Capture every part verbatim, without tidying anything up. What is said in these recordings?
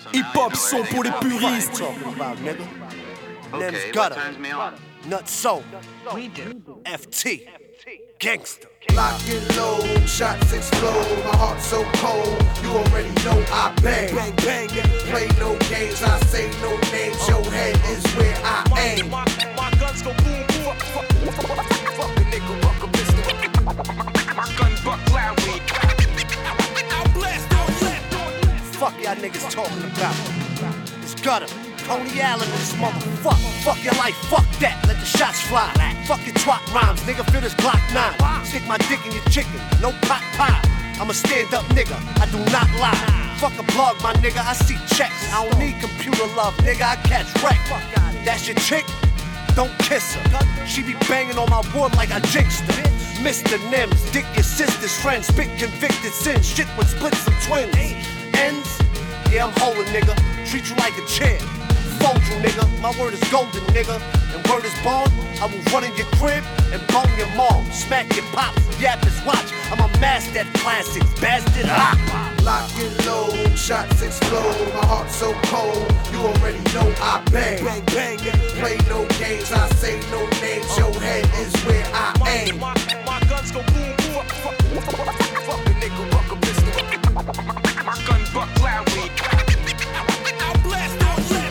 Hip-hop son pour les puristes. Name's Gutter, Nutso, F T, Gangsta. Lock and load, shots explode, my heart so cold, you already know I bang. Bang, bang, play no games, I say no names, your head is where I aim. My, my, my guns go boom, boom, fuck, fuck, fuck a nigga, fuck a pistol. My gun buck loudly. I'll blast on you. Fuck y'all niggas talking about. It's Gutter, Coney Allen and this motherfucker. Fuck your life, fuck that, let the shots fly. Fuck your twat rhymes, nigga, feel this Glock nine. Stick my dick in your chicken, no pot pie. I'm a stand-up nigga, I do not lie. Fuck a blog, my nigga, I see checks. I don't need computer love, nigga, I catch wreck. That's your chick? Don't kiss her. She be banging on my wood like I jinxed her. Mister Nims, dick your sister's friend. Spit convicted sin, shit would split some twins. Ends? Yeah, I'm holding, nigga. Treat you like a chair. Fold you, nigga. My word is golden, nigga. And word is bond, I will run in your crib and bone your mom. Smack your pops, yap his watch. I'm a master at classics, bastard. Ah. Lock and load, shots explode, my heart so cold, you already know I bang. Bang, bang, play no games, I say no names, your head is where I aim. My, my, my guns go boom, boom, fuck, fuck, fuck a nigga, fuck a pistol. My gun buck loudly. I'll blast on you.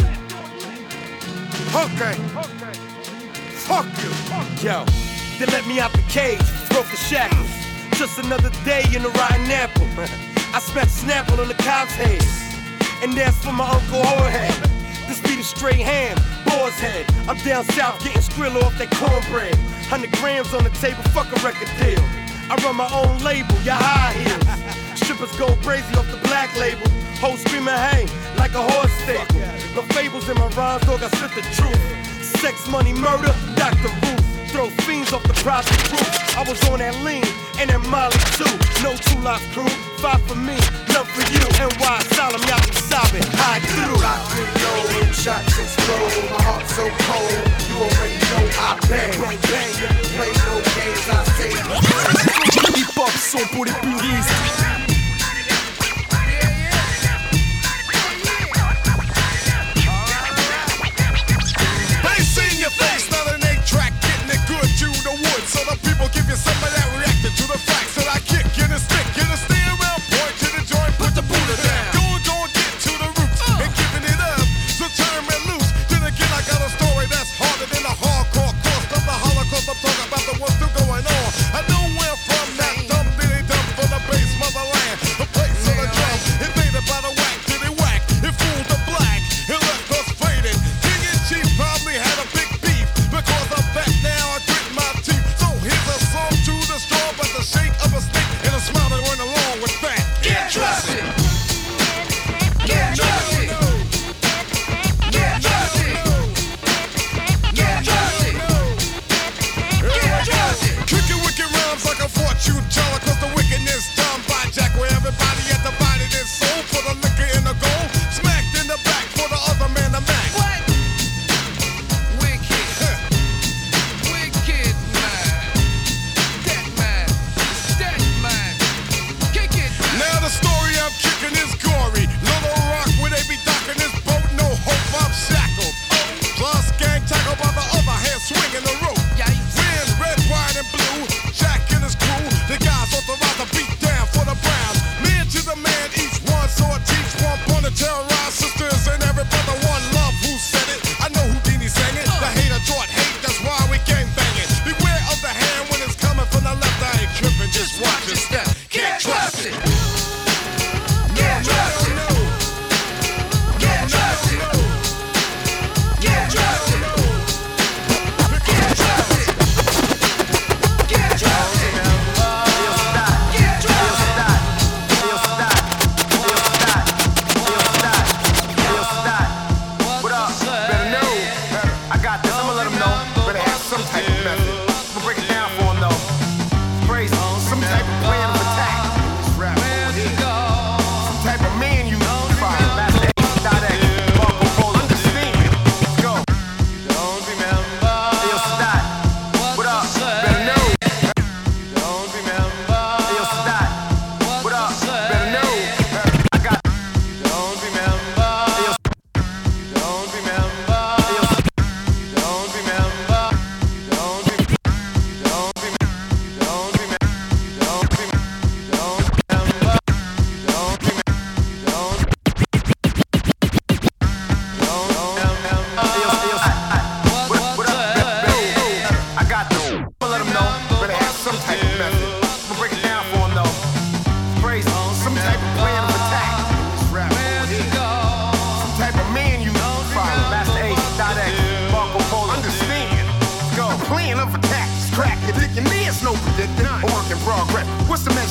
Okay. Okay. Fuck you. Yo, they let me out the cage, broke the shackles. Just another day in the rotten apple. I smacked Snapple on the cop's head, and that's for my Uncle Horhead. This be the straight ham, boar's head. I'm down south getting skrill off that cornbread. Hundred grams on the table, fuck a record deal. I run my own label, your high heels. Strippers go crazy off the black label. Hoes screaming hey, like a horse staple. No fables in my rhymes, dog, I spit the truth. Sex, money, murder, Doctor Ruth. Throw fiends off the prostitute. I was on that lean and that Molly too. No two life crew, five for me, none for you. N Y Solemn, y'all be sobbing, high through. Lock and load, shots explode, my heart so cold, you already know I bang. Bang, bang, play no games, I say no. Hip-hop son pour les puristes. So the people give you some of that reacted to the facts that I kick in the stick, in the steering wheel, point to the joint, put the Buddha down. Go and go and get to the roots and giving it up. So turn and loose. Then again, I got a story that's harder than a hardcore course of the Holocaust. I'm talking about the ones still going on. I know where from that dumb dilly dumb for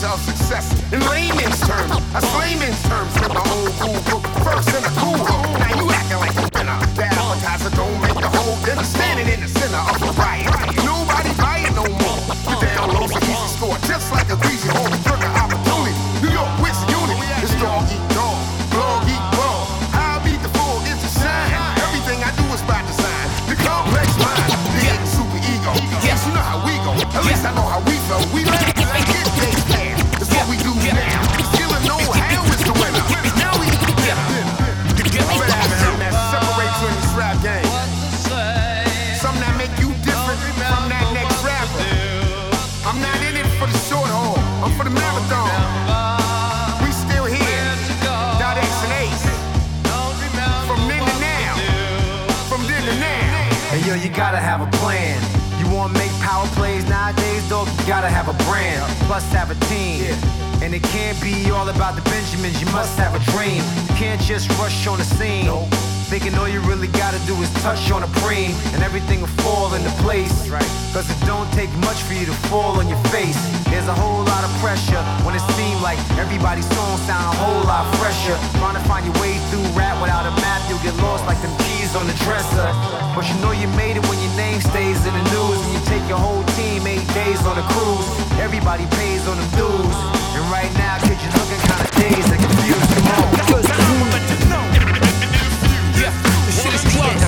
measure of success. In layman's terms, that's layman's terms. With the whole cool book first in the cool hook. Now you acting like a winner. The appetizer don't make the whole dinner. Standing in the center of the riot. Nobody buy it no more. You down low so easy score. Just like a greasy home trigger opportunity. New York with unity. It's dog eat dog. Blog eat blog. How I beat the fool is a shine. Everything I do is by design. The complex mind. The yeah. super ego. Yes, you know how we go. At least I know how we feel. We let it get days past. That's what we do now. Still know how is the winner. Now we eat dinner. That separates you in this rap game. Something that make you different from that next rapper. I'm not in it for the short haul. I'm for the marathon. We still here. Dot X and Ace. From then to now. From then to now. Hey yo, you gotta have a plan. You wanna make power plays nowadays, dog? You gotta have a brand, plus have a team. And it can't be all about the Benjamins, you must have a dream. You can't just rush on the scene. Thinking all you really gotta do is touch on a preem, and everything will fall into place. Cause it don't take much for you to fall on your face. There's a whole lot of pressure when it seems like everybody's song sound a whole lot fresher. Trying to find your way through rap without a map, you'll get lost like them keys on the dresser. But you know you made it when your name stays in the news. When you take your whole team eight days on a cruise, everybody pays on them dues. And right now, kids, you're looking kinda dazed and confused. Come on. Yeah, this shit is drugs.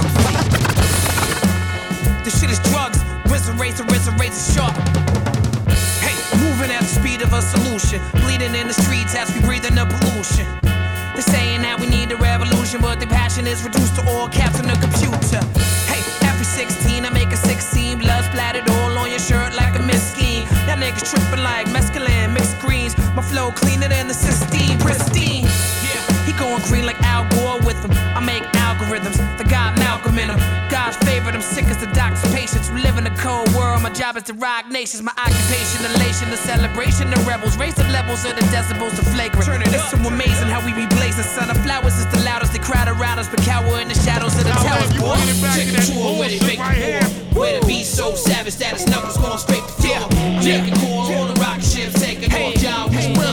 This shit is drugs. Razor, razor, razor, razor sharp. Hey, moving at the speed of a solution. Bleeding in the streets as we breathe in the pollution. They're saying that we need a revolution, but their passion is reduced to all caps on the computer. Hey, every sixteen I make a sixteen, blood splattered all on your shirt like a miskin. Y'all niggas tripping like mescaline, mixed greens. My flow cleaner than the Sistine, pristine. Yeah, he going green like Al Gore with him. I make algorithms, the God Malcolm in them. God's favorite, I'm sick as the doctor's patients who live in a cold world. My job is to rock nations, my occupation, elation, the celebration, the rebels. Raise the levels of the decibels, the flagrant. Turn it it's so amazing how we be blazing. Son of flowers is the loudest, they crowd around us, but cower in the shadows of the towers. Boy, check the tour where they make the war. Where the beat so savage that his knuckles going straight to floor. Making core on the rocket ships, taking on job.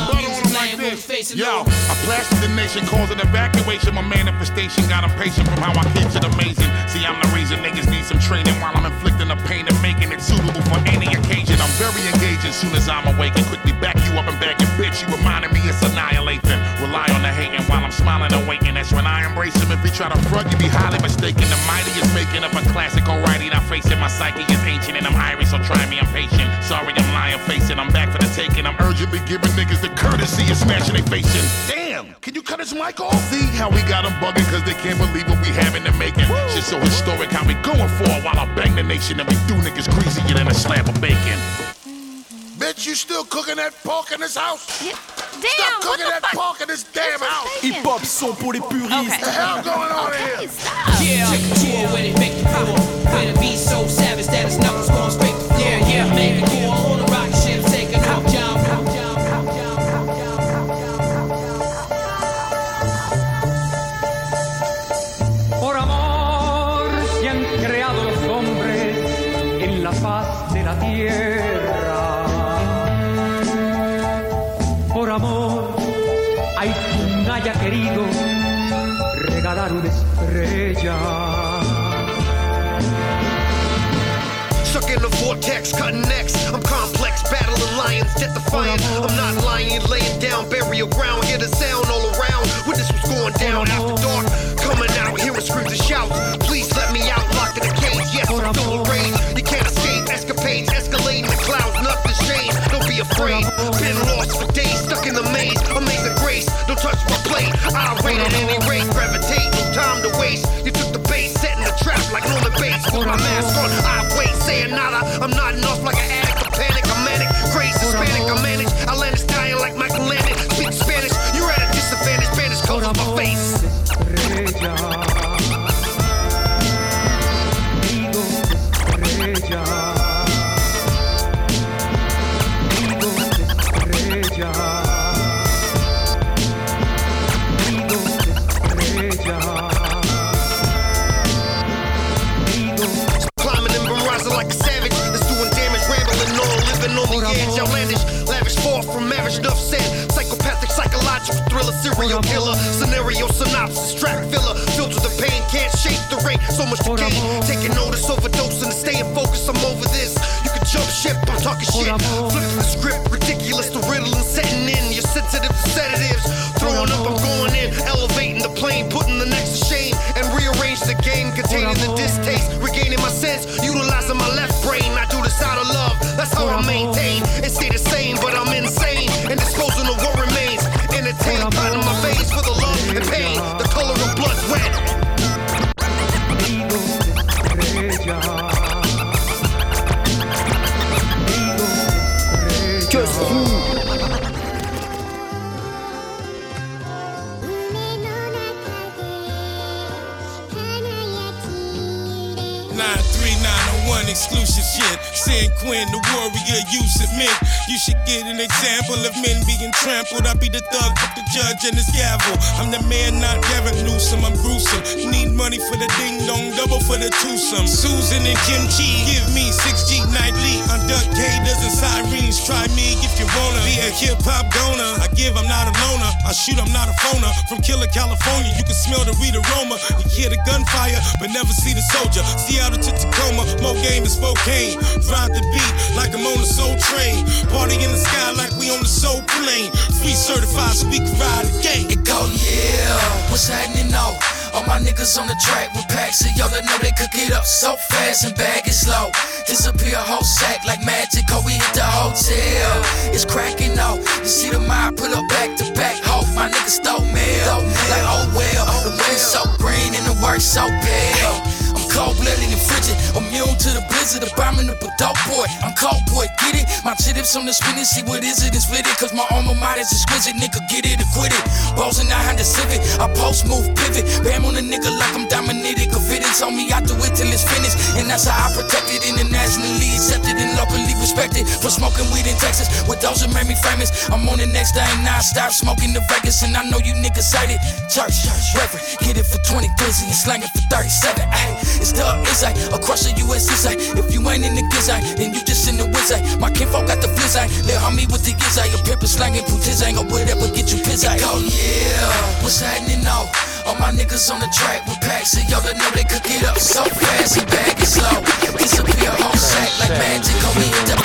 Yo, I blasted the nation, causing evacuation. My manifestation got impatient from how I keep it amazing. See, I'm the reason niggas need some training while I'm inflicting the pain and making it suitable for any occasion. I'm very engaged as soon as I'm awake and quickly back you up and back your bitch. You reminding me it's annihilating. Rely on the hating while I'm smiling and waiting. That's when I embrace him. If you try to front, you be highly mistaken. The mighty is making up a classic alrighty. Now facing my psyche is ancient and I'm Irish, so try me, I'm patient. Sorry, I'm lying, facing. I'm back for the taking. I'm urgently giving niggas the courtesy of smashing they facing. Damn, can you cut his mic off? See how we got them bugging cause they can't believe what we have in the making. Woo. Shit so historic how we going for it while I bang the nation and we do niggas greasier than a slab of bacon. Bitch, you still cooking that pork in this house? Yeah. Damn, stop cooking what the that fuck? pork in this damn house. Hip-hop son pour les puristes. Okay. What the hell going on Okay, here? stop. Yeah, check the tour where they make the power. Where the beat so savage that his knuckles going straight to floor. Yeah, yeah, making core on the rocket ships, taking off job. Por amor se han creado los hombres en la faz de la tierra. Por amor hay quien haya querido regalar una estrella. Stuck in the vortex, cutting necks. I'm complex, battling lions, death defying. I'm not lying, laying down, burial ground. Hear the sound all around. Witness what's going down after dark. Coming out, hearing screams and shouts. Please let me out, locked in a cage. Yes, I'm full of rage. You can't escape escapades, escalating the clouds. Nothing's changed. Don't be afraid. Been lost for days, stuck in the maze. Amazing grace. Don't touch my plate. I rate at any rate. Gravitate, no time to waste. You took the bait, setting the trap like Norman Bates. Put my mask on, I wait, saying nada. I'm nodding off like an addict. A panic, I'm manic. Crazy Hispanic, I manage. I land Italian like Michael Landon. Speak Spanish. You're at a disadvantage. Spanish covers my face. Estrella, digo estrella, digo estrella, digo estrella, digo. synopsis. Track filler, filled with the pain, can't shake the rain. So much to gain, taking notice, overdosing and staying focused. I'm over this. You can jump ship, I'm talking shit. Flipping the script, ridiculous, the riddle and setting in. You're sensitive to sedatives. Throwing up, I'm going in, elevating the plane, putting the next to shame, and rearrange the game, containing the distaste, regaining my sense, utilizing my left brain. I do this out of love, that's how I maintain and stay the same, but I'm insane and disposing of what remains. Entertain, cutting my veins for the love and pain, the color of blood red. Just you. nine three nine oh one exclusive shit. San Quinn, the warrior, you submit. You should get an example of men being trampled. I be the thug with the judge and his gavel. I'm the man, not Gavin Newsom, I'm gruesome. Need money for the ding dong, double for the twosome. Susan and Kim Chi, give me six G nightly. I'm Duck Gators and Sirens. Try me if you wanna be a hip hop goner. I give, I'm not a loner. I shoot, I'm not a phoner. From Killer, California, you can smell the weed aroma. You hear the gunfire, but never see the soldier. Seattle to Tacoma, more game than Spokane. Ride the beat like I'm on a soul train. Party in the sky like we on the soul plane. Free certified so we can ride again. It go, yeah, what's happening now? All my niggas on the track with packs of y'all that know they cook it up so fast and bag it slow. Disappear whole sack like magic, oh we hit the hotel. It's cracking out, you see the mob pull up back to back. Hope my niggas stole mail, like oh well. The wind's so green and the work's so pale. I'm cold-blooded and frigid, immune to the blizzard, abominable dope boy. I'm cold boy, get it? My chips on the spinach, see what is it and split it. Cause my alma mater's exquisite, nigga get it or quit it. Balls in the Honda Civic, I post move pivot. Bam on a nigga like I'm dominated. Confidence on me, I do it till it's finished. And that's how I protect it, internationally accepted and locally respected. For smoking weed in Texas, with those that made me famous. I'm on the next thing, now I stop smoking the Vegas. And I know you niggas hate it. Church, reverend, get it for twenty glizzy and slang it for thirty-seven. Ay. It's the Izzy, across the U S Izzy. If you ain't in the Gizzy, then you just in the Wizzy. My kinfolk got the flizzy, let homie with the Gizzy. A pimp is slanging putizzy, or whatever get you pizzy. Oh yeah, what's happening now? All my niggas on the track with packs of y'all that know they cook it up so fast and bag it slow. Disappear whole sack like magic, homie hit the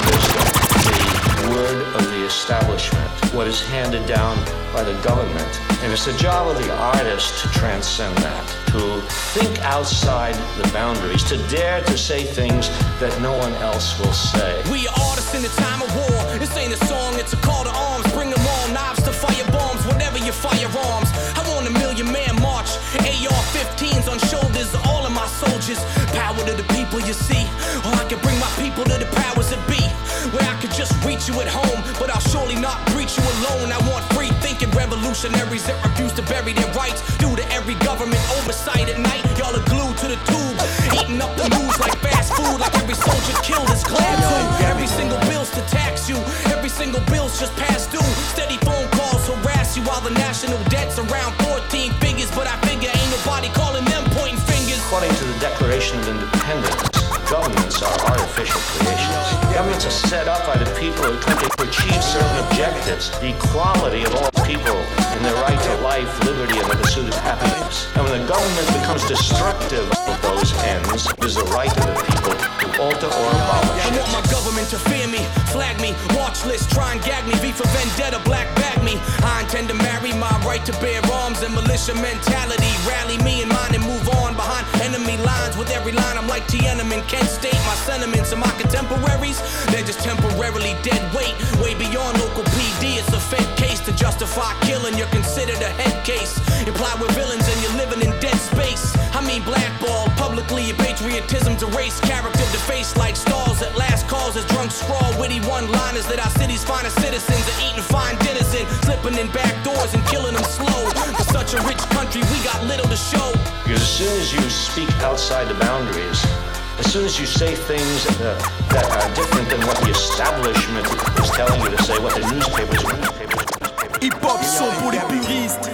The word of the establishment, what is handed down by the government. And it's the job of the artist to transcend that, to think outside the boundaries, to dare to say things that no one else will say. We are artists in the time of war. This ain't a song, it's a call to arms. Bring them all, knives to fire bombs, whatever your firearms. I want a million man march, A R fifteens on shoulders, all of my soldiers. Power to the people, you see. Or I can bring my people to the powers that be, where I could just reach you at home, but I'll surely not reach you alone. I want free thinking revolutionaries that refuse to bury their rights due to every government oversight at night. Y'all are glued to the tube, eating up the news like fast food, like every soldier killed is glad to. Every single bill's to tax you, every single bill's just past due. Steady phone calls harass you while the national debt's around fourteen figures, but I figure ain't nobody calling them pointing fingers. According to the Declaration of Independence, governments are artificial creations. Governments are set up by the people who try to achieve certain objectives. The equality of all people in their right to life, liberty, and the pursuit of happiness. And when the government becomes destructive of those ends, it is the right of the people to alter or abolish I it. want my government to fear me, flag me, watch list, try and gag me, V for vendetta, black bag me. I intend to marry my right to bear arms and militia mentality. Rally me and mine and move on behind enemy lines. With every line I'm like Tiananmen, Kent State. My sentiments and my contemporaries, they're just temporarily dead weight. Way beyond local P D, it's a fed case to justify killing. You're considered a head case. Imply we're villains and you're living in dead space. I mean blackball publicly, your patriotism's erased. Character defaced like stars at last calls as drunk scrawl. Witty one-liners that our city's finest citizens are eating fine dinners in, slipping in back doors and killing them slow. For such a rich country, we got little to show. Because as soon as you speak outside the boundaries, as soon as you say things uh, that are different than what the establishment is telling you to say, what the newspapers, newspapers, newspapers. Hip-hop son pour les puristes.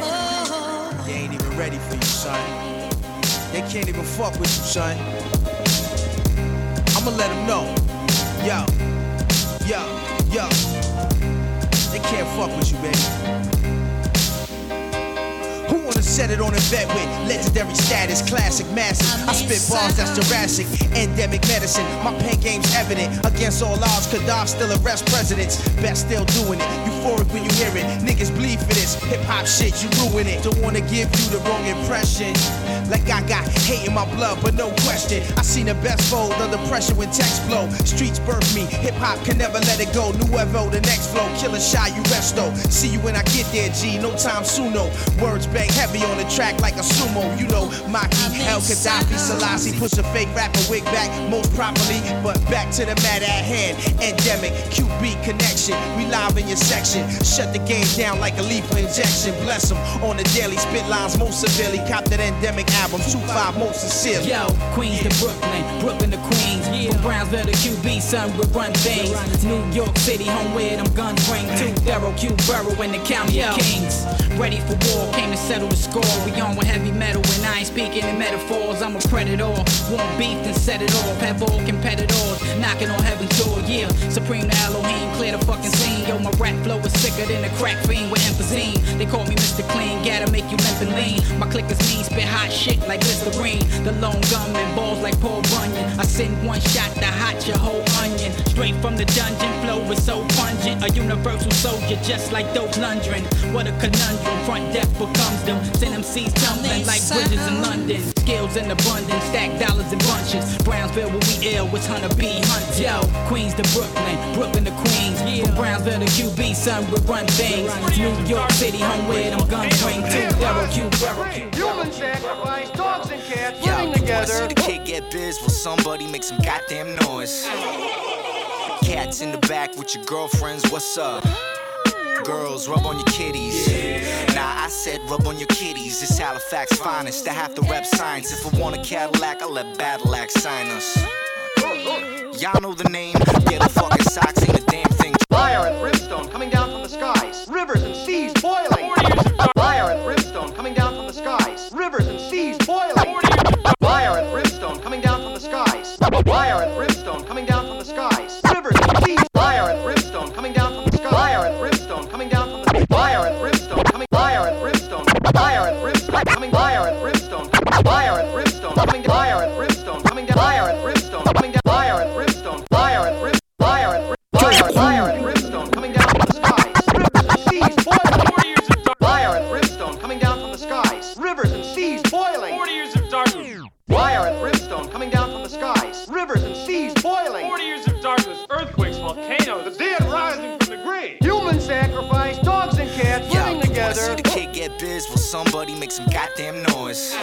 They ain't even ready for you, son. They can't even fuck with you, son. I'ma let them know. Yo, yo, yo. They can't fuck with you, baby. Who wanna Set it on a vet with legendary status, classic massive. I spit bars that's Jurassic, endemic medicine. My pen game's evident. Against all odds, Gaddafi still arrest presidents. Best still doing it. Euphoric when you hear it. Niggas bleed for this. Hip hop shit, you ruin it. Don't wanna give you the wrong impression. Like I got hate in my blood, but no question. I seen the best fold under pressure when text flow. Streets birth me. Hip hop can never let it go. Nuevo, the next flow. Killer shy, you resto. See you when I get there, G. No time soon, no. Words bang heavy on the track like a sumo. You know, Maki, El Gaddafi, Selassie. Push a fake rapper wig back most properly. But back to the matter at hand. Endemic, Q B connection. We live in your section. Shut the game down like a lethal injection. Bless them on the daily. Spit lines most severely. Cop that endemic album. two five most sincerely. Yo, Queens to Brooklyn. Brooklyn to Queens. From Brownsville to Q B, son, we run things. New York City, home where them guns ring. Two thorough Q Borough in the county of Kings. Ready for war, came to settle the score. We on with heavy metal and I ain't speaking in metaphors. I'm a predator. Want beef, then set it off. Have all competitors knocking on heaven's door. Yeah, Supreme to Elohim, clear the fucking scene. Yo, my rap flow is sicker than a crack fiend with emphyseme. They call me Mister Clean, gotta make you limp and lean. My click is mean, spit hot shit like Listerine. The lone gunman, balls like Paul Bunyan. I send one shot to hot your whole onion. Straight from the dungeon, flow is so pungent. A universal soldier, just like those Lundgren. What a conundrum, front death becomes them. Send M Cs tumbling like bridges in London. Skills in abundance, stack dollars in bunches. Brownsville where we ill, with Hunter B. Hunt. Yo, Queens to Brooklyn, Brooklyn to Queens. From Brownsville to Q B, son, we run things. New York City, home where them guns ring. Two thorough Q Borough. Human sacrifice, dogs and cats living together. See the kid get biz, will somebody make some goddamn noise? Cats in the back with your girlfriends, what's up? Girls, rub on your kitties. Nah, I said rub on your kitties. It's Halifax finest. I have to rep science. If I want a Cadillac, I'll let Badillac sign us. Y'all know the name. Get a fucking socks, ain't a damn thing. Fire and brimstone coming down from the skies. Rivers and seas boiling. Fire and brimstone coming down from the skies. Rivers and seas boiling. Fire and brimstone coming down from the skies. Fire and brimstone coming down from the skies. Rivers and seas. Fire and brimstone coming down from the skies. Fire and brimstone coming down from the fire and brimstone coming. Fire and brimstone. Fire and brimstone coming. Fire and brimstone. Fire and brimstone coming. Fire and brimstone coming down. Fire and brimstone coming down. Fire and brimstone. Fire and brimstone. Fire and brimstone. Fire and brimstone coming down from the skies. Rivers and seas boiling. Fire and brimstone coming down from the skies. Rivers and seas boiling. Forty years of darkness. Fire and brimstone coming down from the skies. Rivers and seas boiling. Forty years of darkness. Earthquakes, volcanoes, the dead rising from the grave. Human sacrifice, dogs and cats living Yo, together. See the kid get biz, will somebody make some goddamn noise?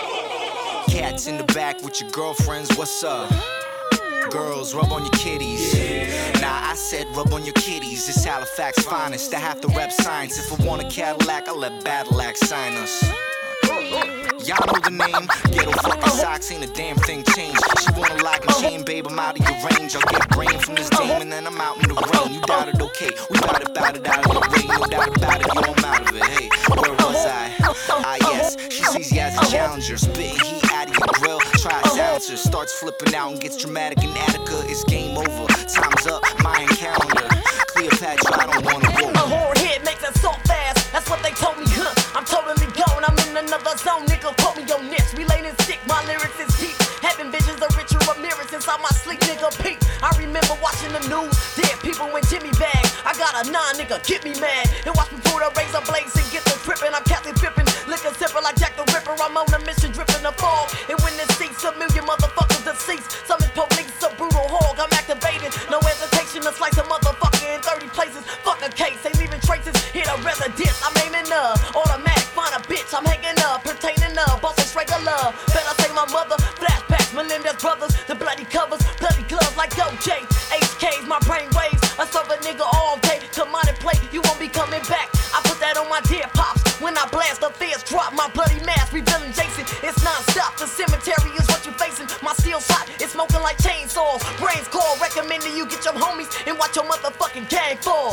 Cats in the back with your girlfriends, what's up? Girls, rub on your kitties. Nah, I said rub on your kitties. It's Halifax finest. I have to rep science. If I want a Cadillac, I'll let Badillac sign us. Y'all know the name. Ghetto fucking socks, ain't a damn thing changed. She wanna lock and chain, babe, I'm out of your range. I'll get brain from this game and then I'm out in the rain. You doubt it, okay? We bout it, bout it out of the rain. No doubt about it, yo, I'm out of it. Hey, where was I? Ah, yes, she sees you as a challenger. Spitting heat out of your grill. Try silencer, starts flipping out and gets dramatic in Attica. It's game over. Time's up, Mayan calendar. Cleopatra, I don't wanna go. A horn hit makes it so fast. That's what they told me, huh? I'm totally gone. I'm in another zone, nigga. Quote me your niche. Relating sick, my lyrics is deep. Having visions of Richard Ramirez inside my sleep, nigga. Peep. I remember watching the news. Dead people in Jimmy bag. I got a nine, nigga. Get me mad. And watch me pull the razor blades and get the trippin'. I'm Captain Pippin. Liquor sipper like Jack the Ripper. I'm on a mission, dripping the fog. And when it seats, a million motherfuckers deceased. Some is police, a brutal hog. I'm activated. No hesitation to slice a motherfucker in thirty places. Fuck a case, ain't leaving traces. Hit a residence. I'm aiming up. Automatic, find a bitch. I'm hanging up. Pertaining up. Bustin' straight to love. Better say my mother. Flashbacks, Melendez brothers. The bloody covers. Bloody gloves like O J. H K's, my brain waves. I serve a nigga all day. Come on and play. You won't be coming back. I put that on my dead pops. When I blast, the feds drop my bloody mask. Revealing Jason. It's non-stop. The cemetery is what you facing. My steel shot is smoking like chainsaws. Brains call. Recommending you get your homies and watch your motherfucking gang fall.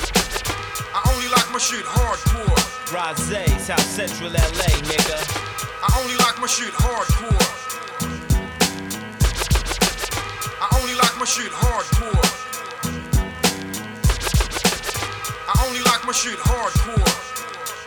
I only like my shit hardcore. Rosé, South Central L A, nigga. I only like my shit hardcore. I only like my shit hardcore. I only like my shit hardcore.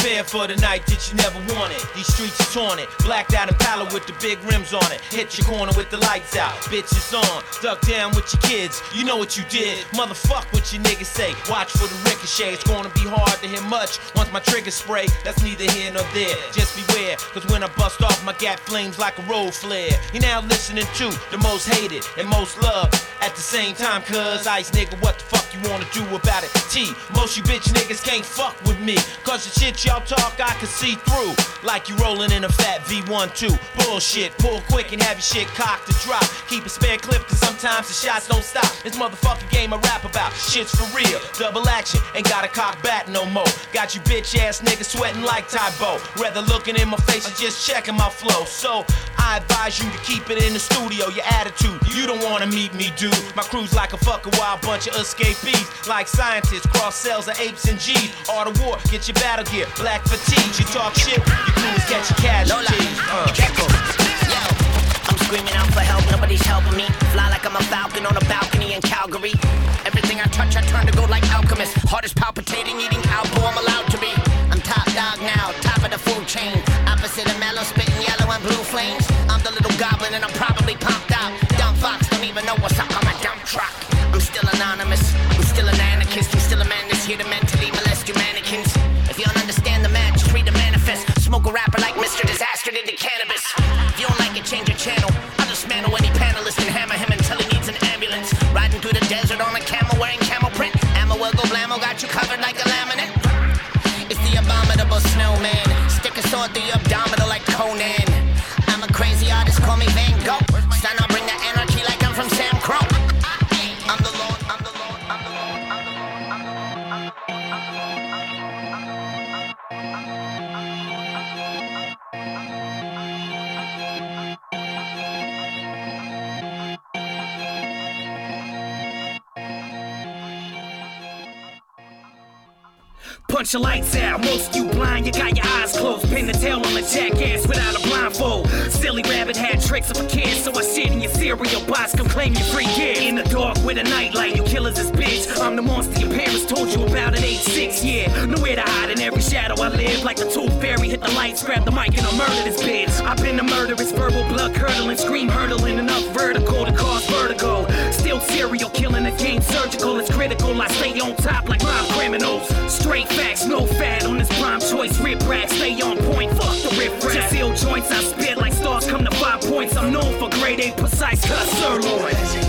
Prepare for the night that you never wanted. These streets are taunted, blacked out and pallid with the big rims on it. Hit your corner with the lights out, bitches on. Duck down with your kids, you know what you did. Motherfuck what your niggas say. Watch for the ricochet, it's gonna be hard to hit much. Once my trigger spray, that's neither here nor there. Just beware, cause when I bust off, my gap flames like a road flare. You're now listening to the most hated and most loved at the same time, cuz Ice nigga, what the fuck you wanna do about it? T, most you bitch niggas can't fuck with me, cause the shit y'all talk I can see through. Like you rolling in a fat V one two. Bullshit, pull quick and have your shit cocked to drop. Keep a spare clip cause sometimes the shots don't stop. This motherfucking game I rap about, shit's for real. Double action, ain't got a cock bat no more. Got you bitch ass niggas sweating like Tybo. Rather looking in my face and just checking my flow. So I advise you to keep it in the studio, your attitude. You don't wanna meet me, dude. My crew's like a fucking wild bunch of escapees. Like scientists, cross cells of apes and G's. All the war, get your battle gear, black fatigue. You talk shit, your crew is catching casualties. Uh, Yo, I'm screaming out for help, nobody's helping me. Fly like I'm a falcon on a balcony in Calgary. Everything I touch, I turn to gold like alchemist. Heart is palpitating, eating alpo, I'm allowed to be. I'm top dog now, top of the food chain. Opposite of mellow, spitting yellow and blue flames. I'm the little goblin and I'm probably pumped out. Dumb fox don't even know what's up on my dump truck. I'm still anonymous, I'm still an anarchist. I'm still a man that's here to mentally molest you mannequins. If you don't understand the man, just read the manifest. Smoke a rapper like Mister Disaster did the cannabis. If you don't like it, change your channel. I'll dismantle any panelist and hammer him until he needs an ambulance. Riding through the desert on a camel wearing camel print. Ammo will go blammo, got you covered like a laminate. It's the abominable snowman. Stick a sword through your abdominal like Conan. I'm a crazy artist, call me Van Gogh. Son, I'll bring the anarchy like I'm from Sam Crow. I'm the Lord, I'm the Lord, I'm the Lord, I'm the Lord, I'm the Lord, Punch your lights out, most of you blind, you got your eyes closed. Pin the tail on a jackass without a blindfold. Silly rabbit had tricks of a kid, so I shit in your cereal box, come claim your free gift. In the dark with a nightlight, you killers is bitch. I'm the monster your parents told you about at age six, yeah. Nowhere to hide in every shadow I live. Like the tooth fairy, hit the lights, grab the mic and I'll murder this bitch. I've been a murderous, verbal blood curdling, scream hurdling, enough vertical to cause vertigo. Still serial killing, the game surgical, it's critical. I stay on top like mob criminals. Straight facts, no fat on this prime choice. Rip rack, stay on point, fuck the rip rack. Just ill joints, I spit like stars come to five points. I'm known for grade A precise cut sirloin.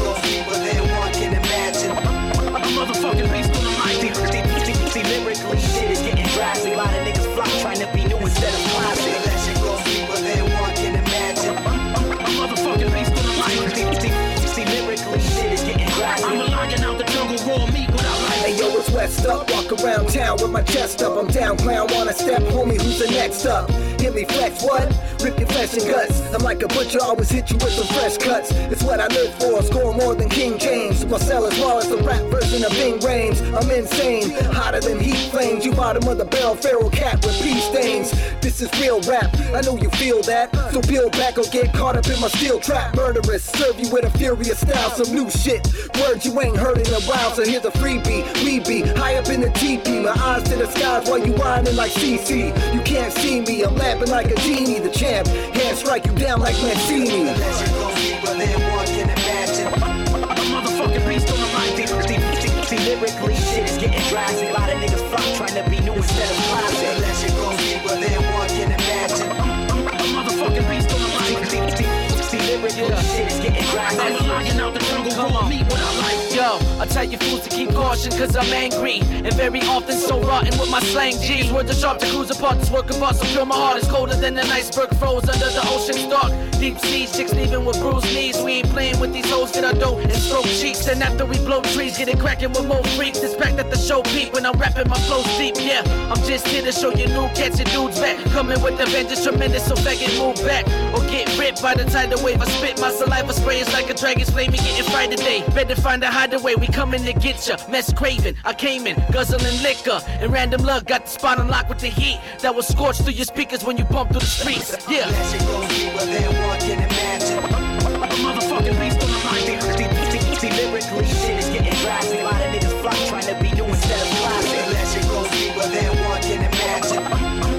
A motherfucking beast on the mic. See, lyrically, shit is getting drastic. A lot of niggas flock trying to be new instead of classic. That shit goes deeper than one can imagine. A motherfucking beast on the mic. See, lyrically, shit is getting drastic. I'm a lion out the jungle, raw meat without life. Hey yo, it's West up, walk around town with my chest up. I'm down, clown, wanna step, homie, who's the next up? Hit me flex, what? Rip your flesh and guts. I'm like a butcher, always hit you with some fresh cuts. It's what I live for, score more than King James. Marcel as well as the rap version of Bing Rames. I'm insane, hotter than heat flames. You bottom of the barrel, feral cat with pea stains. This is real rap, I know you feel that. So peel back or get caught up in my steel trap. Murderous, serve you with a furious style, some new shit. Words you ain't heard in a while, so here's a freebie. We be high up in the teepee, my eyes to the skies while you whining like C C. You can't see me, I'm laughing like a genie, the champ. Hand strike you down like Mancini. That shit goes deeper than one can imagine. A motherfucking beast on the mic. See, lyrically, shit is getting drastic. A lot of niggas flock trying to be new instead of classic. That shit goes deeper than one can imagine. A motherfucking beast on the mic. See, lyrically, shit is getting drastic. I'm a lion out the jungle, raw meat without life. Yo, I tell you fools to keep caution cause I'm angry and very often so rotten with my slang G's. Words are sharp to cruise apart, this work apart so pure my heart is colder than an iceberg froze under the ocean's dark. Deep seas, chicks leaving with bruised knees. We ain't playing with these hoes, get our dough and stroke cheeks. And after we blow trees, get it cracking with more freaks. Expect that the show peak when I'm rapping my flows deep, yeah. I'm just here to show you new cats and dudes back. Coming with the vengeance tremendous, so faggot move back. Or get ripped by the tidal wave. I spit my saliva spray, it's like a dragon's flame. Me getting fried today, better find a hideaway. We coming to get ya, mess craving. I came in, guzzling liquor, and random luck got the spot on lock with the heat that was scorched through your speakers when you bump through the streets. Yeah. That shit goes deeper than one can imagine. A motherfucking beast on the mic. See, lyrically, shit is getting drastic. A lot of niggas flock trying to be new instead of classic. That shit goes deeper than one can imagine.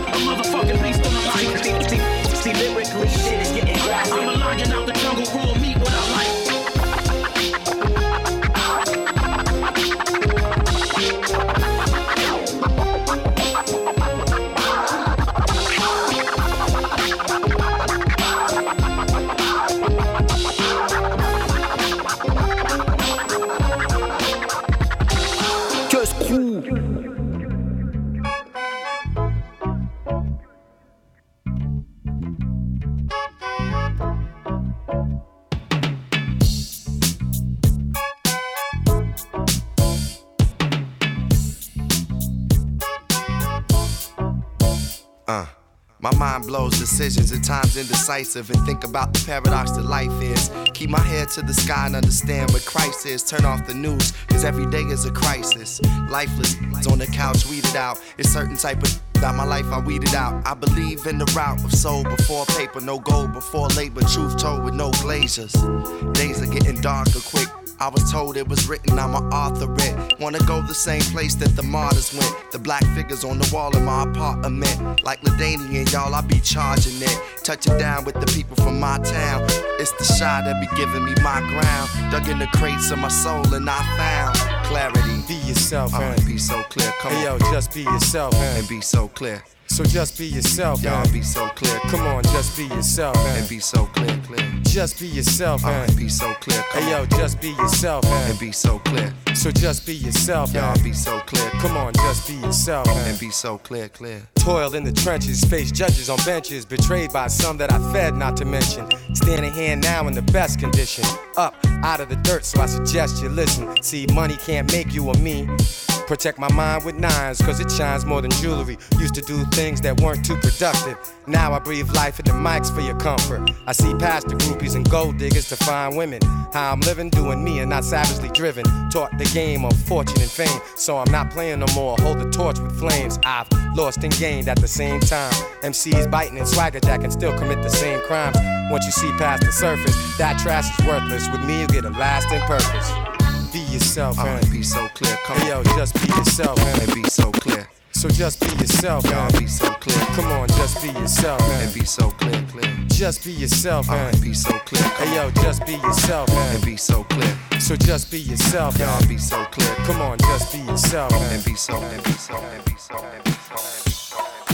My mind blows decisions, at times indecisive, and think about the paradox that life is. Keep my head to the sky and understand what Christ is. Turn off the news, cause every day is a crisis. Lifeless on the couch, weed it out. It's certain type of about my life I weeded out. I believe in the route of soul before paper, no gold before labor, truth told with no glaziers. Days are getting darker quick. I was told it was written, I'm an author it. Wanna go the same place that the martyrs went. The black figures on the wall in my apartment. Like LaDainian, y'all, I be charging it. Touching down with the people from my town. It's the shy that be giving me my ground. Dug in the crates of my soul and I found clarity. Be yourself, man. Uh, be so clear, come hey, on. yo, just be yourself, man. And be so clear. So just be yourself, y'all man. Be so clear. Come on, just be yourself, man. And be so clear, clear. Just be yourself, man. Uh, be so clear. Come hey, yo, on. just be yourself, man. And be so clear. So just be yourself, y'all man. Be so clear. Come on, just be yourself, man. And be so clear, clear. Toil in the trenches, face judges on benches, betrayed by some that I fed, not to mention. Standing here now in the best condition, up out of the dirt, so I suggest you listen. See, money can't make you or me. Protect my mind with nines, cause it shines more than jewelry. Used to do things that weren't too productive. Now I breathe life in the mics for your comfort. I see past the groupies and gold diggers to find women. How I'm living, doing me and not savagely driven. Taught the game of fortune and fame, so I'm not playing no more. Hold the torch with flames. I've lost and gained at the same time. M Cs biting and swagger jack and still commit the same crimes. Once you see past the surface, that trash is worthless. With me, you get a lasting purpose. Be yourself, man. Uh, be so clear. Come hey, yo, just be yourself, man. And be so clear. So just be yourself, man. Y'all be so clear. Come on, just be yourself, man. And be so clear, clear. Just be yourself, man. Uh, be so clear. Come hey, yo, just be yourself, man. And be so clear. So just be yourself, man. Y'all be so clear. Come on, just be yourself, man. And be so, and be so, and be so, and be so, and be so.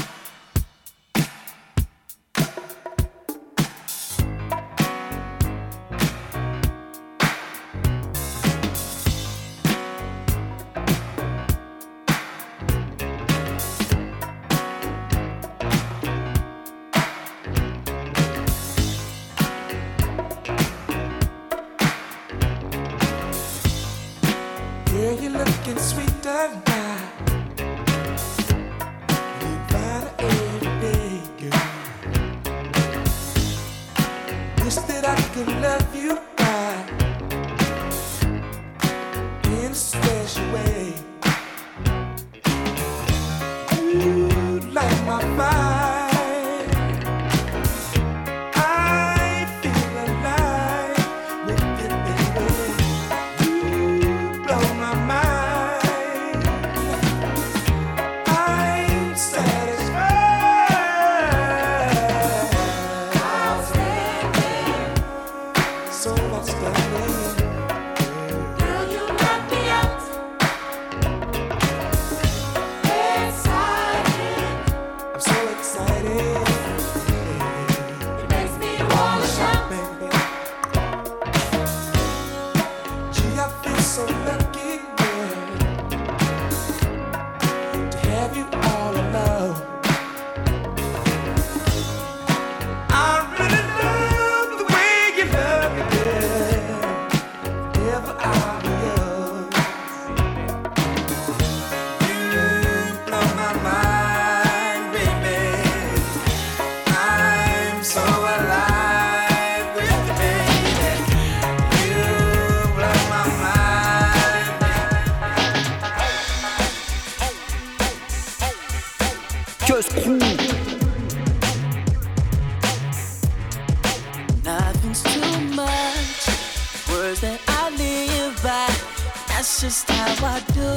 Nothing's too much, words that I live by. That's just how I do,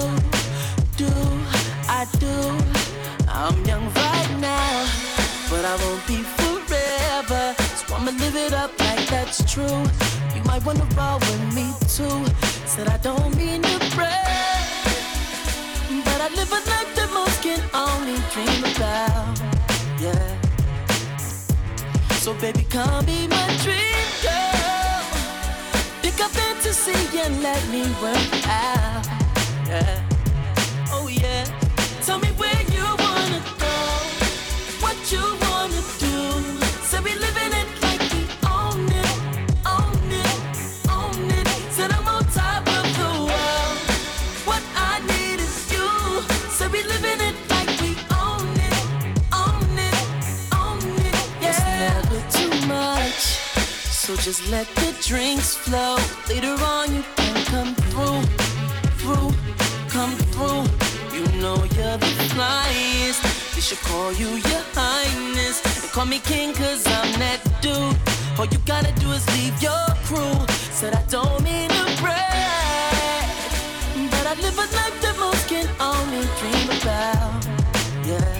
do, I do. I'm young right now, but I won't be forever. So I'ma live it up like that's true. You might wanna roll with me too. Said I don't mean to brag, but I live a life that most can only dream about. Yeah. So baby, come be my dream girl. Pick up fantasy and let me work out. Yeah. Oh yeah. Tell me where you wanna go, what you wanna do. Say we living it like we own it, own it, own it. Said I'm on top of the world. What I need is you. Say we living it like we own it, own it, own So just let the drinks flow. Later on you can come through, through, come through. You know you're the flyest. They should call you your highness. And call me king cause I'm that dude. All you gotta do is leave your crew. Said I don't mean to brag, but I live a life that most can only dream about. Yeah.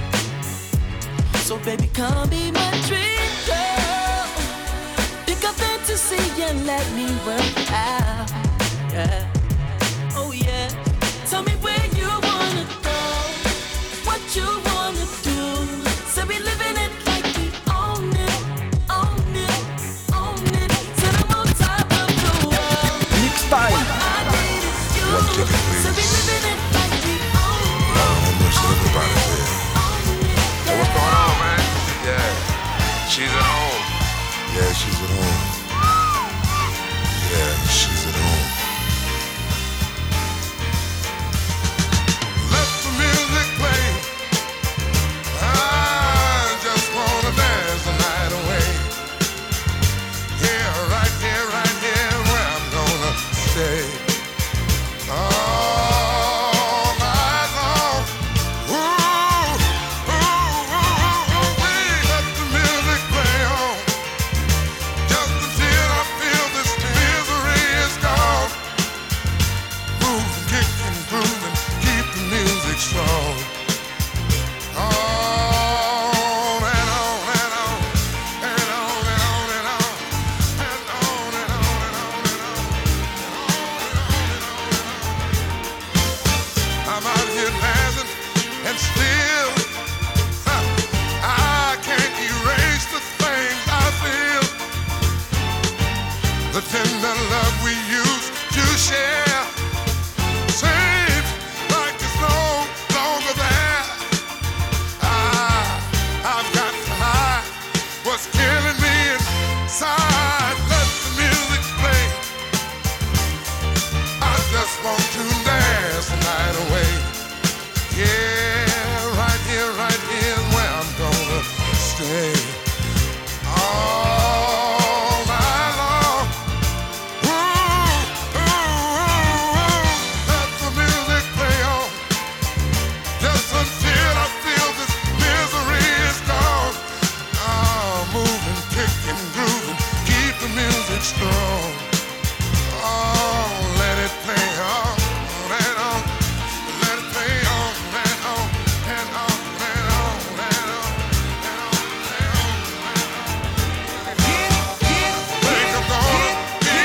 So baby come be my dream girl. Pick a fantasy and let me work it out. Yeah. Oh yeah. Tell me where you wanna go, what you wanna do. So we living it like we own it, own it, own it. Till I'm on top of the world. Mix time. One ticket, please. So we living it like we own it. Lord have mercy, everybody there. Hey, what's going on, man? Yeah. She's at home. Yeah, she's at home. Yeah, she's at home. Let the music play. I just wanna dance the night away. Yeah, right here, right here, where I'm gonna stay. All night long. Ooh, ooh, ooh, ooh, ooh, wee. Let the music play on. Just until I feel this misery is gone. Move, kick and groove and keep the music strong. On and on and on and on and on and on and on and on and on and on. I'm out here dancing and still huh, I can't erase the things I feel. The tender love we used to share seems like it's no longer there. I, I've got to hide what's killing me inside. Let the music play. I just want to dance the night away. Yeah, right here, right here is where I'm gonna stay. All night long. Ooh, ooh, ooh, ooh. Let the music play on. Just until I feel this misery is gone. Oh, moving, kicking, grooving, keep the music strong. Oh, let it play on and on. Let it play on and on and on and on and on and on and on. Think I'm gonna be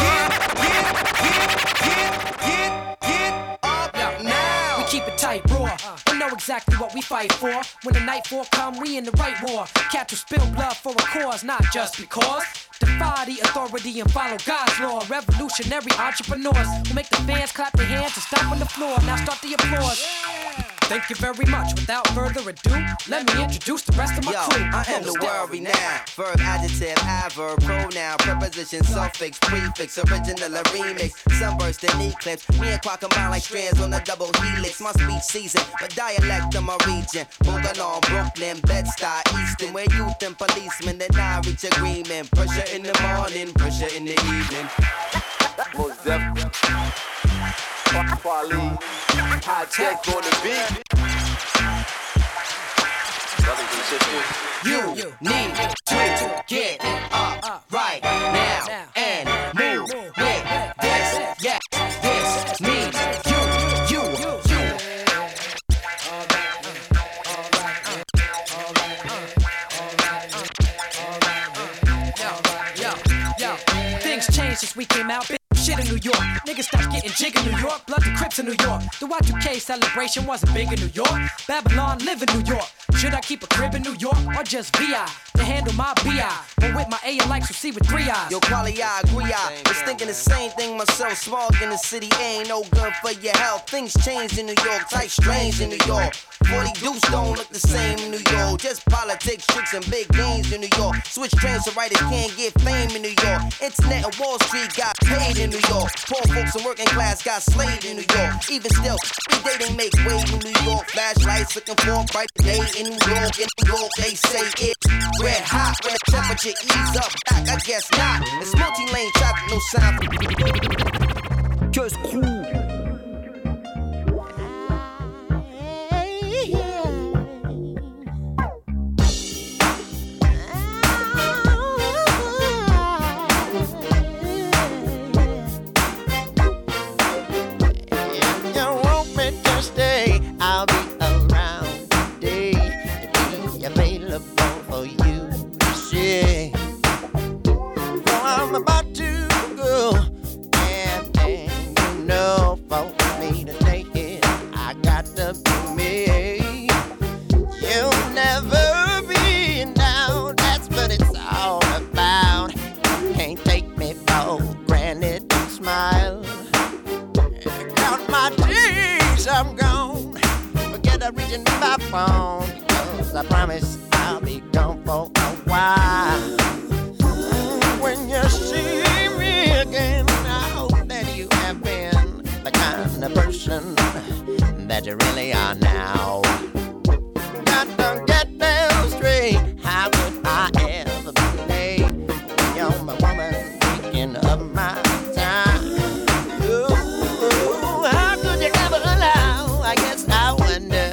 We keep it tight, raw. We know exactly what we fight for. When the nightfall come, we in the right war. Catch will spill blood for a cause, not just because. Defy the authority and follow God's law. Revolutionary entrepreneurs who make the fans clap their hands and stomp on the floor. Now start the applause. Thank you very much. Without further ado, let me introduce the rest of my Yo, crew. I am the world renowned. Verb, adjective, adverb, pronoun, preposition, suffix, prefix, original or remix, sunburst and eclipse. Me and Quack combine like strands on a double helix. My speech season, but dialect of my region. Moving on Brooklyn, Bed-Stuy, Easton, where youth and policemen then I reach agreement. Pressure in the morning, pressure in the evening. Most definitely. Quality, high tech on the beat. Brothers and sisters, You need to get up right now and move with this. Yes, this means you, you, you. Yo, yo, things changed since we came out. Big shit in New York. Niggas stopped getting jig in New York. Blood to Crips in New York. The Y two K celebration wasn't big in New York. Babylon live in New York. Should I keep a crib in New York or just V I to handle my B I? But with my A, I like to see with three eyes. Yo, quality, I agree. I was thinking the same thing myself. Smog in the city ain't no good for your health. Things changed in New York, type strange in New York. forty deuce don't look the same in New York. Just politics, tricks, and big games in New York. Switch trains so writers can't get fame in New York. Internet and Wall Street got paid in New York. Poor folks and working class got slaved in New York. Even still, every day they make way in New York. Flashlights looking for a bright day in New York. In New York, they say it's red hot when the temperature ease up back. I guess not. It's multi-lane traffic, no sign. Just cool. I'll be around today to be available for you to see. So I'm about to go, and, and you know, for me to take it, I got to be me. You'll never be down, that's what it's all about. You can't take me for granted and smile. Count my days, I'm gone. I'm reaching my phone because I promise I'll be gone for a while. When you see me again, I hope that you have been the kind of person that you really are now. Got to get them straight. How could I ever be late when you're my woman taking up my time? Ooh, how could you ever allow? I guess I wonder.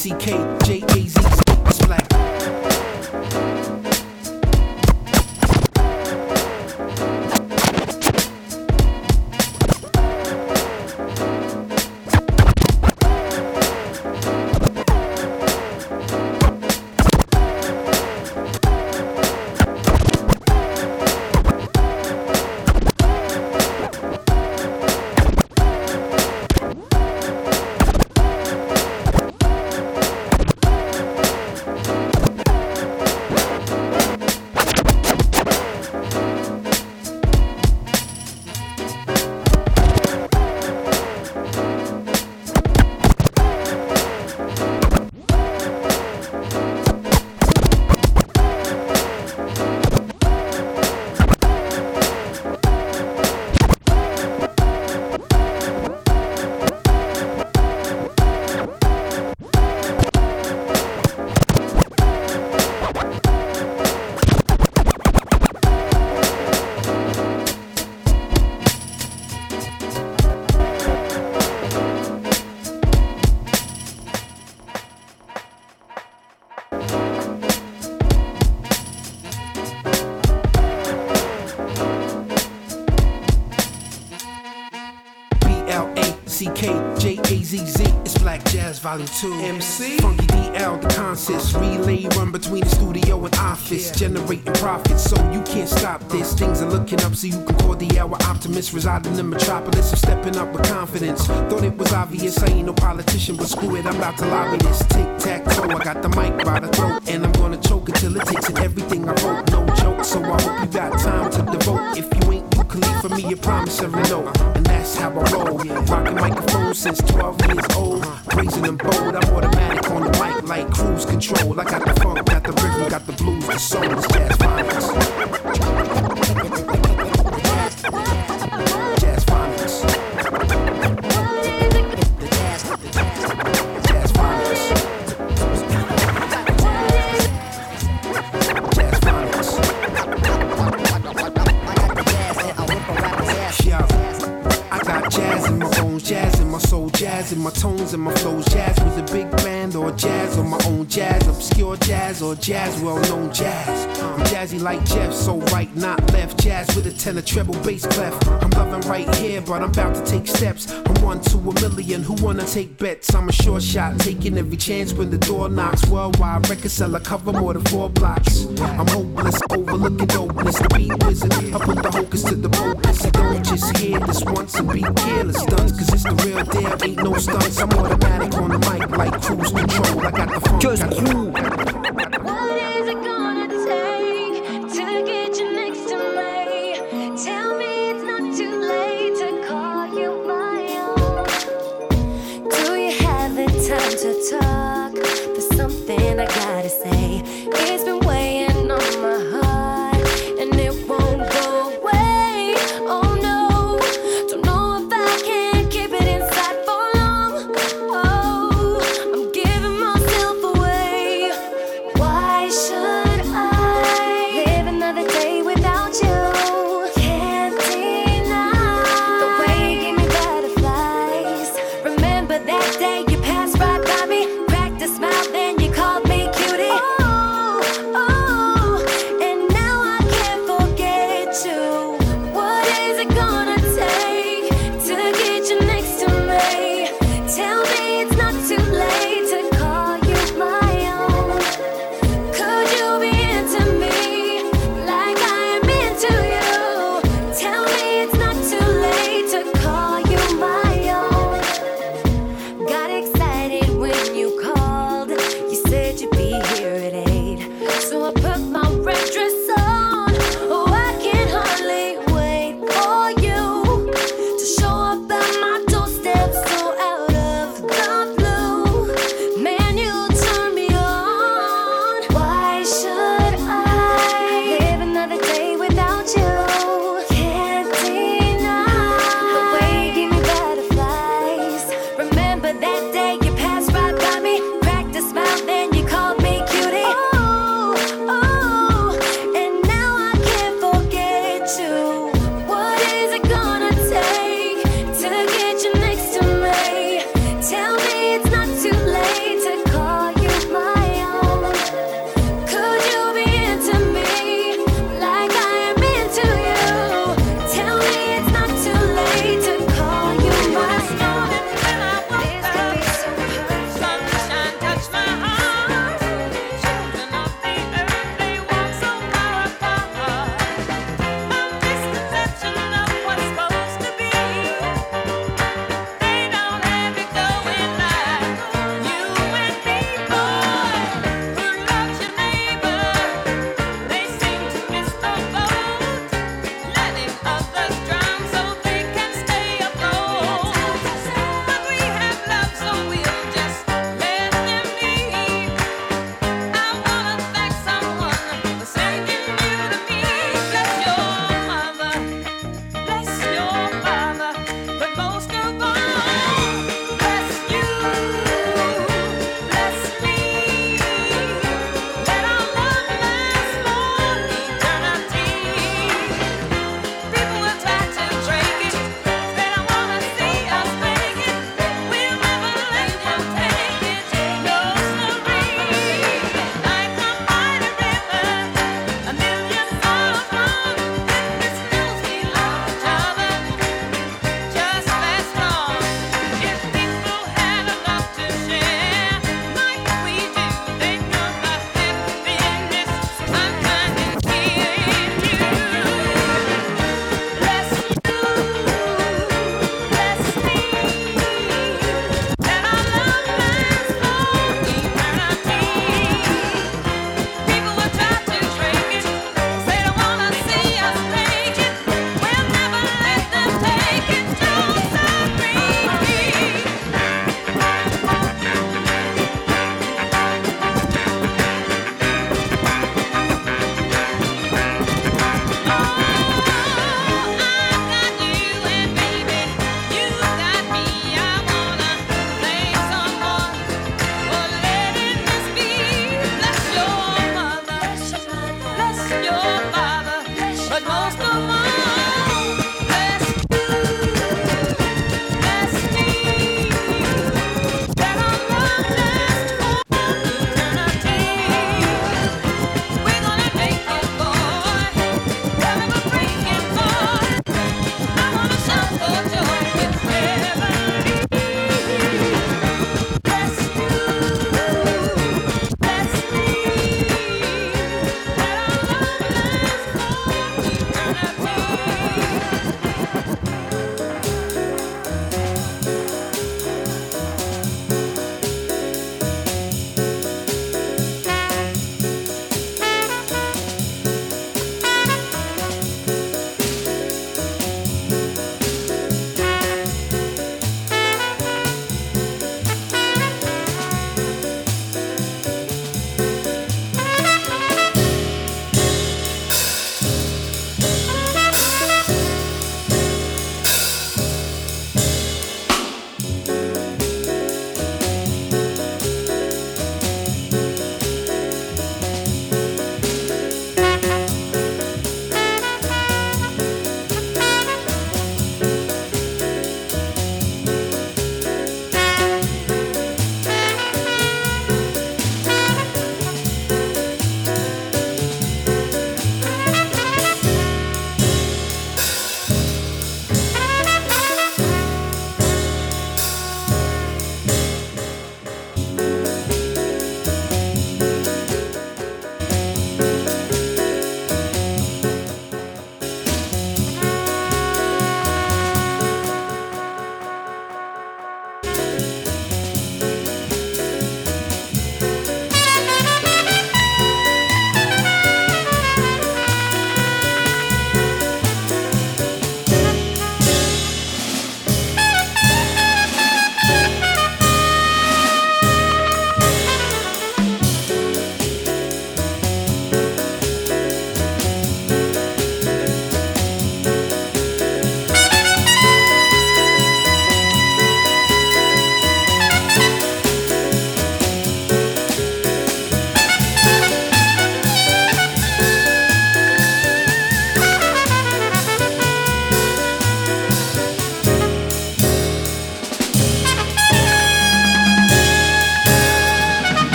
C K J A Z Z. It's black. C K J A Z Z, it's Black Jazz Volume two. M C Funky D L, the concerts. Relay run between the studio and office, generating profits, so you can't stop this. Things are looking up, so you can call the hour optimist. Reside in the metropolis, I'm stepping up with confidence. Thought it was obvious, I ain't no politician, but screw it, I'm about to lobby this. Tic-tac-toe, I got the mic by the throat, and I'm gonna choke until it takes in everything I wrote. No joke, so I hope you got time to devote. If you ain't, you can leave for me a promissory note, and that's how I roll. Rocking microphones since twelve years old, raising them bold. I'm automatic on the mic like cruise control. I got the funk, got the rhythm, got the blues, the soul. It's Jazz Phonics. Jazz Phonics. Jazz Phonics. Jazz Phonics. Yeah, I got jazz in my bones, jazz in my soul, jazz in my tones and my flows. Jazz with a big band or jazz on my own jazz, obscure jazz or jazz, well-known jazz. I'm jazzy like Jeff, so right, not left. Jazz with a tenor, treble, bass clef. I'm loving right here, but I'm about to take steps. I'm one to a million, who wanna take bets? I'm a short shot, taking every chance when the door knocks. Worldwide record seller, cover more than four blocks. I'm hopeless, overlooking dopeness, the beat wizard. I put the hocus to the pocus. You don't just hear this once and be careless, stunts, cause it's the real deal, ain't no stunts. I'm automatic on the mic like cruise control. I got the funk, got the groove. What is it gonna take to get you next to me? Tell me it's not too late to call you my own. Do you have the time to talk? There's something I gotta say. It's been weighing on my heart, and it won't go away. Oh no, don't know if I can keep it inside for long. Oh, I'm giving myself away. Why should I live another day without you? Can't deny the way you gave me butterflies. Remember that day you passed right by me.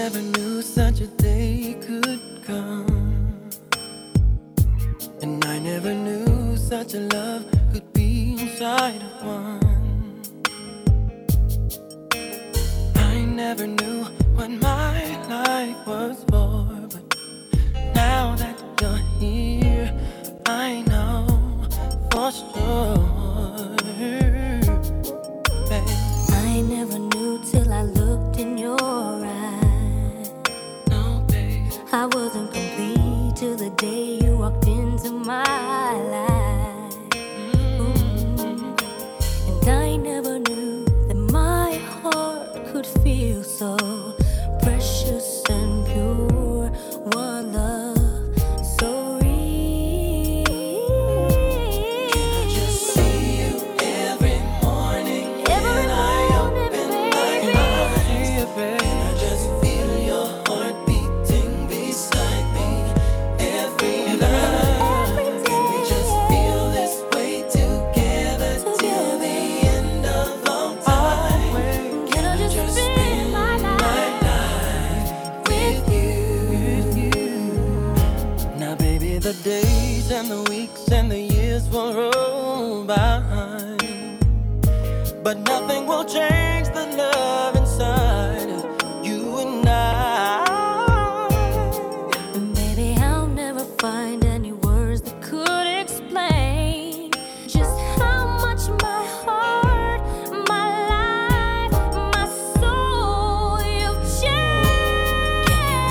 never knew such a day could come, and I never knew such a love could be inside of one. I never knew what my life was for, but now that you're here, I know for sure. Babe. I never knew till I looked in your eyes. No, babe. I wasn't complete till the day you walked into my life. Mm. And I never knew that my heart could feel so precious and pure. One love so real. Can I just see you every morning? Every Can I morning, open my baby. eyes? Can I just feel your heart beating beside me every night? Can we just feel this way together till the end of all time? Can I just spend my life with you? Now, baby, the days and the weeks and the years will roll by, but nothing will change the love inside of you and I. Baby, I'll never find any words that could explain just how much my heart, my life, my soul you've changed.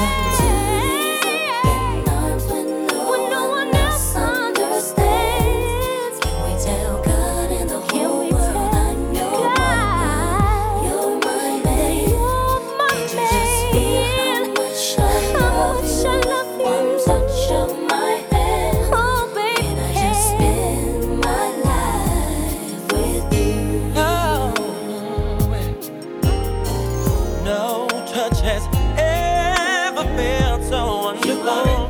When no one else understands, can we tell God and the whole world I know you're my man? You're my man. How much I love you. One touch of my hand. Oh, baby. Can I just spend my life with you? Oh, no touch has ever felt so wonderful.